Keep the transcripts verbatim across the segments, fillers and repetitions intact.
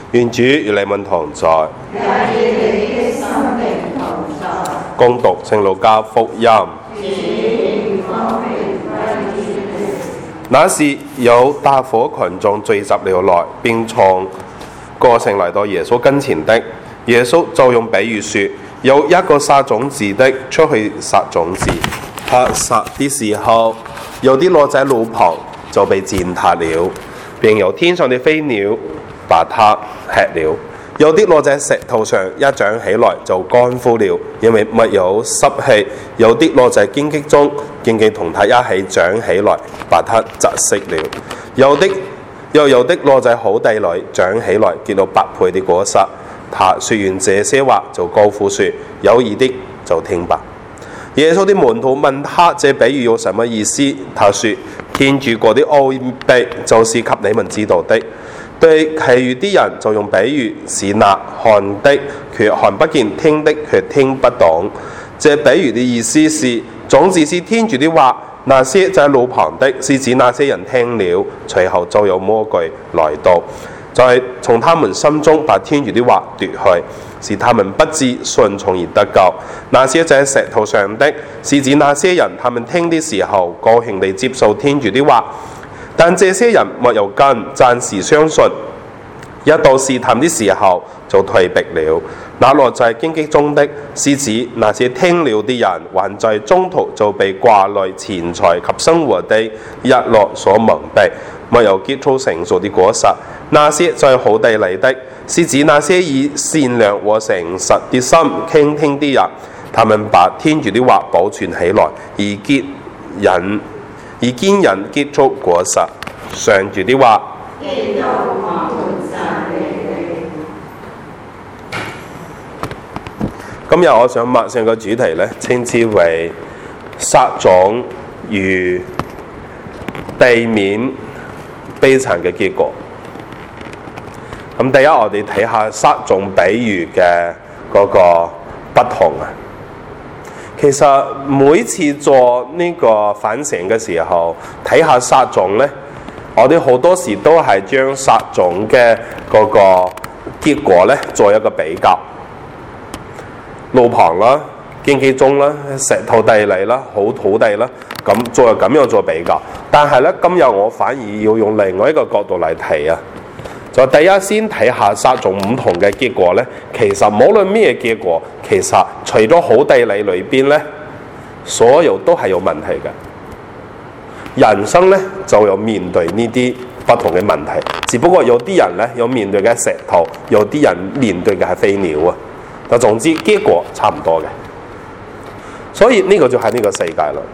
願主與你們同在， 也與你的心靈同在。 恭讀聖路加福音。那時有大夥群眾聚集了來，並從各城來到耶穌跟前的。耶穌就用比喻說：有一個撒種子的出去撒種子，他撒的時候，有啲落在路旁，就被踐踏了，並有天上的飛鳥把它吃了；有啲落在石頭上，一長起來就乾枯了，因為沒有濕氣；有啲落在荊棘中，荊棘同它一起長起來，把它窒息了；有啲又有啲落在好地裏，長起來結到百倍的果實。他說完這些話，就高呼說：有耳的就聽吧。耶穌的門徒問他這比喻有什麼意思？他說：天主國的奧秘就是給你們知道的。對其餘啲人就用比喻，是那看的卻看不見，聽的卻聽不懂。這比喻的意思是，種子是天主的話，那些在路旁的，是指那些人聽了，隨後就有魔鬼來到，在從他們心中把天主的話奪去，使他們不至順從而得救。那些在石頭上的，是指那些人，他們聽的時候高興地接受天主的話，但這些人沒有根，暫時相信，一到試探的時候就退避了。那落在荊棘中的，是指那些聽了的人，還在中途就被掛慮錢財及生活的日落所蒙蔽，沒有結出成熟的果實。那些在好地裏的，是指那些以善良和誠實的心傾聽的人，他們把天主的話保存起來，而結引而堅忍結出果實。上主的話。今日我想默想個主題呢，稱之為撒種與避免悲慘嘅結果。咁第一，我哋睇下撒種比喻嘅嗰個不同啊。其實每次做呢個反省嘅時候，睇下撒種呢，我哋好多時都係將撒種嘅嗰個結果呢做一個比較。路旁啦、荊棘中啦、石頭地裏啦、好土地啦，咁再咁樣做比較。但係咧，今日我反而要用另外一個角度嚟睇啊。就第一先睇下撒種唔同嘅結果咧，其實無論咩結果，其實除咗好地裏裏邊咧，所有都係有問題嘅。人生咧就有面對呢啲不同嘅問題，只不過有啲人咧有面對嘅石頭，有啲人面對嘅係飛鳥啊。但總之結果差唔多嘅，所以呢個就係呢個世界啦。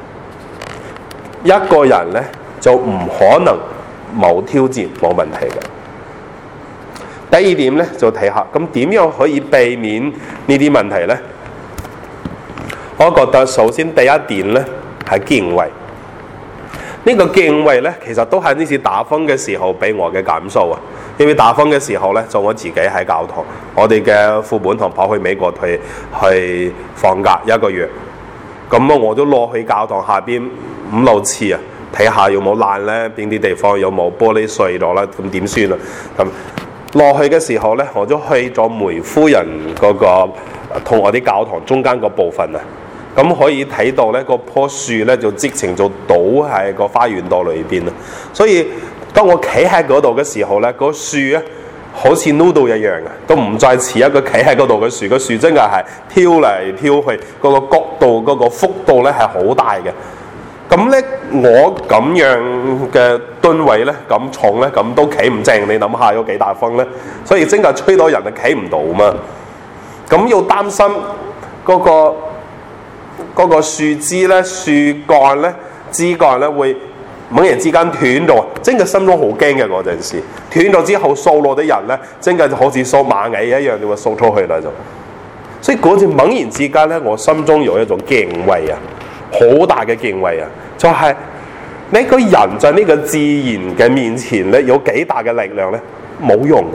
一個人咧就唔可能冇挑戰冇問題嘅。第二點咧就睇下，咁點樣可以避免呢啲問題咧？我覺得首先第一點咧係敬畏。呢個敬畏咧其實都係呢次打風嘅時候俾我嘅感受啊。因為打風嘅時候咧，就我自己喺教堂，我哋嘅副本堂跑去美國去去放假一個月，咁我都落去教堂下邊五六次啊，睇下有冇爛咧，邊啲地方有冇玻璃碎咗啦，咁點算啊？咁落去嘅時候咧，我都去咗梅夫人嗰個同我啲教堂中間個部分啊，咁可以睇到咧，嗰棵樹咧就直情就倒喺個花園道裏邊啊，所以。當我企喺嗰度嘅時候咧，個樹咧好似 noodle 一樣嘅，都唔再似一個企喺嗰度嘅樹。個樹真係係挑嚟挑去，嗰、嗰個角度、嗰、嗰個幅度咧係好大嘅。咁咧，我咁樣嘅噸位咧，咁重咧，咁都企唔正。你諗下有幾大風咧？所以真係吹到人就企唔到嘛。咁要擔心嗰、嗰個嗰、嗰個樹枝咧、樹幹咧、枝幹咧會。猛然之間斷咗，真係心中好驚嘅嗰陣時。斷咗之後掃落啲人咧，真係好似掃螞蟻一樣，就會掃出去啦就。所以嗰陣猛然之間咧，我心中有一種敬畏啊，好大嘅敬畏啊，就係、是、你個人在呢個自然嘅面前咧，有幾大嘅力量咧，冇用嘅。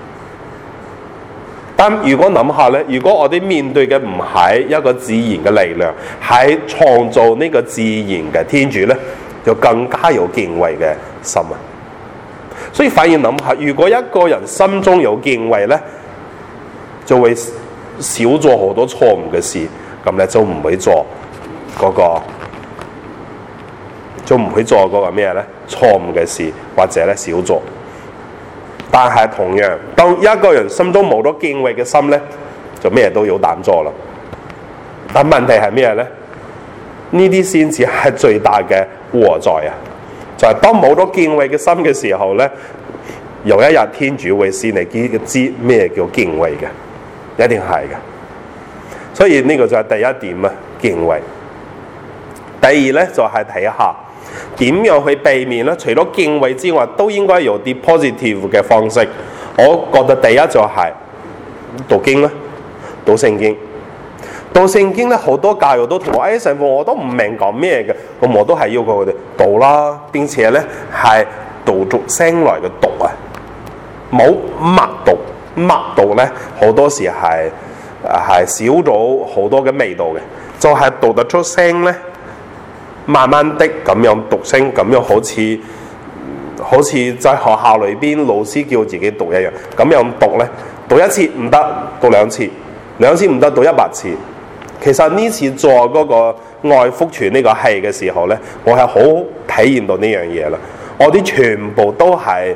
但如果諗下咧，如果我哋面對嘅唔係一個自然嘅力量，係創造呢個自然嘅天主咧，就更加有敬畏嘅心啊！ 所以反而諗下，如果一個人心中有敬畏咧，就會少做好多錯誤嘅事，咁咧就唔會做嗰、那個，就唔會做嗰個咩咧錯誤嘅事，或者咧少做。但係同樣，當一個人心中冇咗敬畏嘅心咧，就咩都有膽做啦。但問題係咩咧？呢啲先至係最大嘅禍在啊！就係、是、當冇咗敬畏嘅心嘅時候咧，有一日天主會使你知咩叫敬畏嘅，一定係嘅。所以呢個就係第一點啊，敬畏。第二咧就係、是、睇下點樣去避免咧。除咗敬畏之外，都應該有啲 positive 嘅方式。我覺得第一就係讀經啦，讀聖經。讀聖經咧，好多教育都同我，誒神父我都唔明講咩嘅，咁我都係要求佢哋讀啦，並且咧係讀出聲來嘅讀啊，冇默讀，默讀咧好多時係係少咗好多嘅味道嘅，就係、是、讀得出聲咧，慢慢的咁樣讀聲，咁樣好似好似在學校裏邊老師叫自己讀一樣，咁樣讀咧，讀一次唔得，讀兩次，兩次唔得，讀一百次。其實呢次做嗰個愛福傳呢個戲嘅時候咧，我係好體驗到呢樣嘢啦。我啲全部都係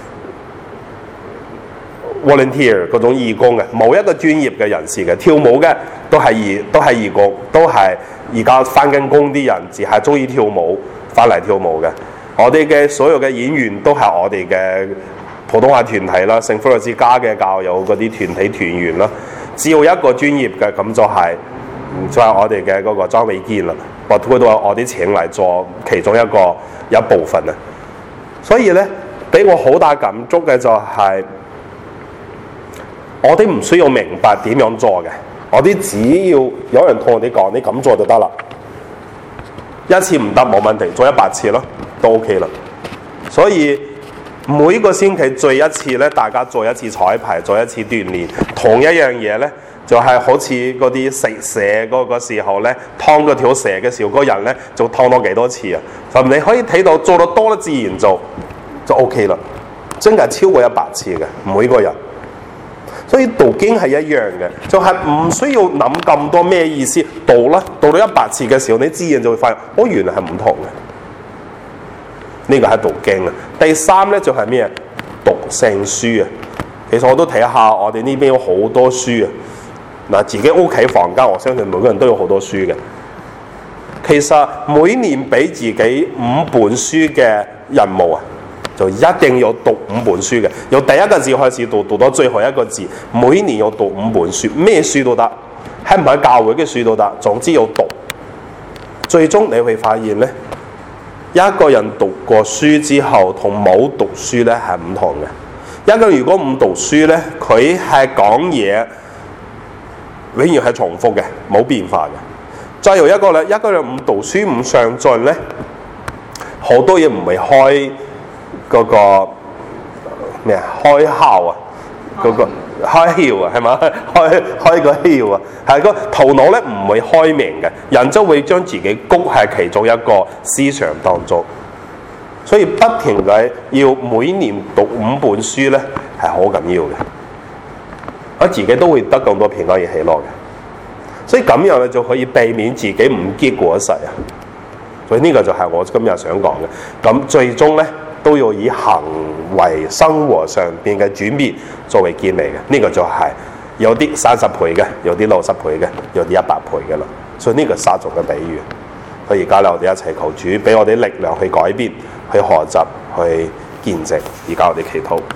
volunteer 嗰種義工嘅，冇一個專業嘅人士嘅。跳舞嘅都係義都係義工，都係而家返緊工啲人，只係中意跳舞返嚟跳舞嘅。我哋嘅所有嘅演員都係我哋嘅普通話團體啦，聖福若瑟家嘅教友嗰啲團體團員啦。只要一個專業嘅，咁就係、是。就係我哋嘅嗰個莊偉堅啦，我佢都話我啲請嚟做其中一個一部分啊。所以咧，俾我好大感觸嘅就係、是，我哋唔需要明白點樣做嘅，我哋只要有人同我哋講，你咁做就得啦。一次唔得冇問題，做一百次咯，都 OK 啦。所以每個星期做一次咧，大家做一次彩排，做一次鍛鍊，同一樣嘢咧。就係好似嗰啲食蛇嗰個時候咧，劏嗰條蛇嘅時候，嗰人咧就劏多幾多次啊？咁你可以睇到做得多咧，自然就就 OK 啦。真係超過一百次嘅每個人。所以讀經係一樣嘅，就係、是、唔需要諗咁多咩意思，讀啦，讀到一百次嘅時候，你自然就會發現，哦，原來係唔同嘅。呢、這個係讀經啊。第三咧就係、是、咩？讀聖書啊。其實我都睇下，我哋呢邊有好多書啊。嗱，自己屋企房間，我相信每個人都有好多書嘅。其實每年俾自己五本書嘅任務啊，就一定要讀五本書嘅。由第一個字開始讀，讀到最後一個字，每年要讀五本書，咩書都得，係唔係教會嘅書都得，總之要讀。最終你會發現咧，一個人讀過書之後，同冇讀書咧係唔同嘅。一個人如果唔讀書咧，佢係講嘢。永遠係重複嘅，冇變化嘅。再有一個咧，一個人唔讀書唔上進咧，好多嘢唔會開嗰、那個咩啊？開竅啊，嗰、那個開竅啊，係嘛？開開個竅啊，係個頭腦咧唔會開明嘅，人就會將自己谷喺其中一個思想當中。所以不停嘅要每年讀五本書咧，係好緊要嘅。我自己都會得更多平安而喜樂嘅，所以咁樣咧就可以避免自己唔結果實啊。所以呢個就係我今日想講嘅。咁最終咧都要以行為生活上邊嘅轉變作為建立嘅。呢、這個就係有啲三十倍嘅，有啲六十倍嘅，有啲一百倍嘅啦。所以呢個沙族嘅比喻，所以而家咧我哋一齊求主俾我哋力量去改變、去學習、去見證。而家我哋祈禱。